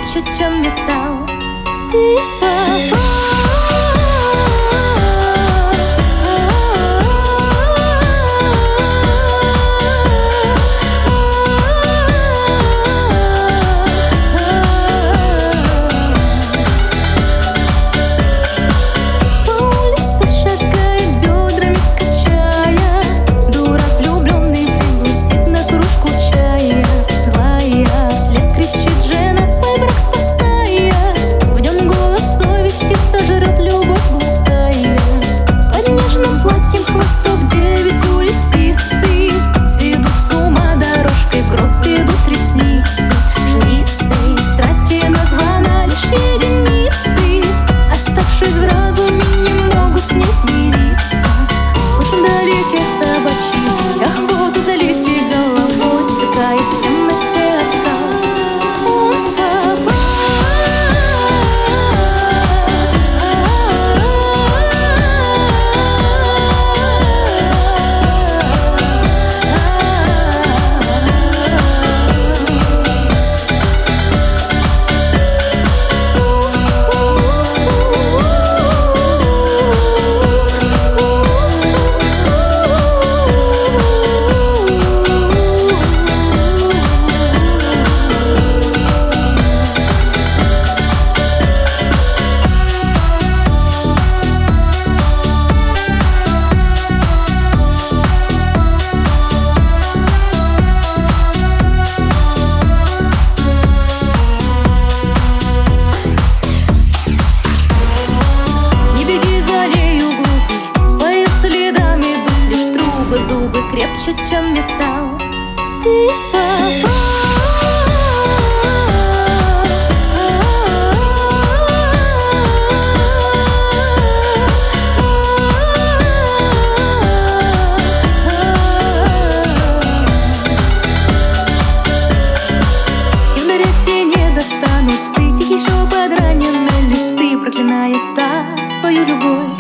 крепче, чем металл. Ты попал. Зубы крепче, чем металл. Ты попал. И в дыректе не достанутся этих еще подраненные лисы, проклиная так свою любовь.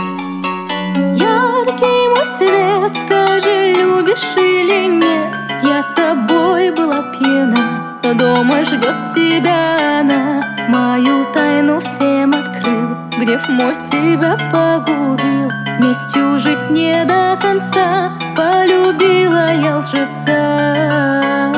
Яркий мой свет, скажи, любишь или нет? Я тобой была пьяна, но дома ждет тебя она. Мою тайну всем открыл, гнев мой тебя погубил. Местью жить не до конца, полюбила я лжеца.